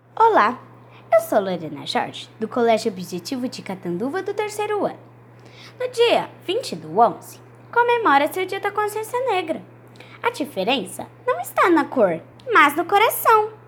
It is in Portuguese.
Olá, eu sou Lorena Jorge, do Colégio Objetivo de Catanduva do 3º ano. No dia 20/11, comemora-se o Dia da Consciência Negra. A diferença não está na cor, mas no coração.